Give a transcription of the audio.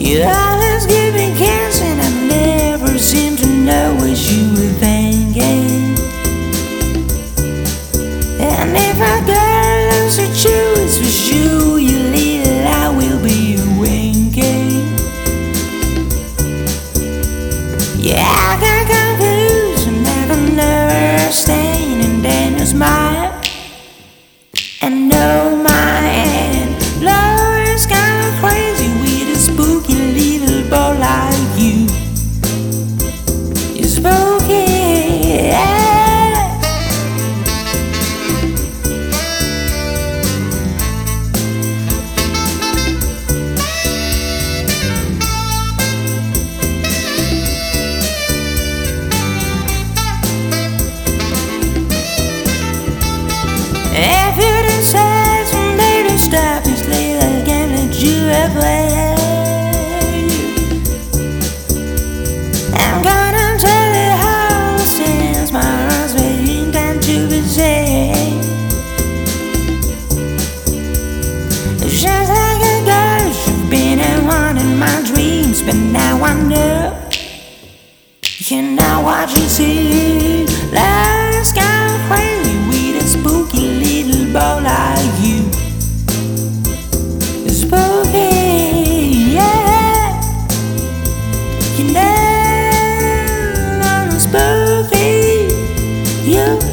You always give me kiss and I never seem to know what you were thinking. And if a girl looks at you, it's for sure you little I will be winking. Yeah, I got confused and I can understand, and then you smile and know my hand. Love is kind of crazy with a spooky little boy like you. You're spooky, yeah. If you decide someday to stop this little game that you have played, I'm gonna tell you how since my heart's waiting time to be saved. It's just like a ghost, you've been a one in my dreams, but now I know you know what you see. Love's kind of crazy with a spooky little boy like you. Spooky, yeah. You know I'm spooky. You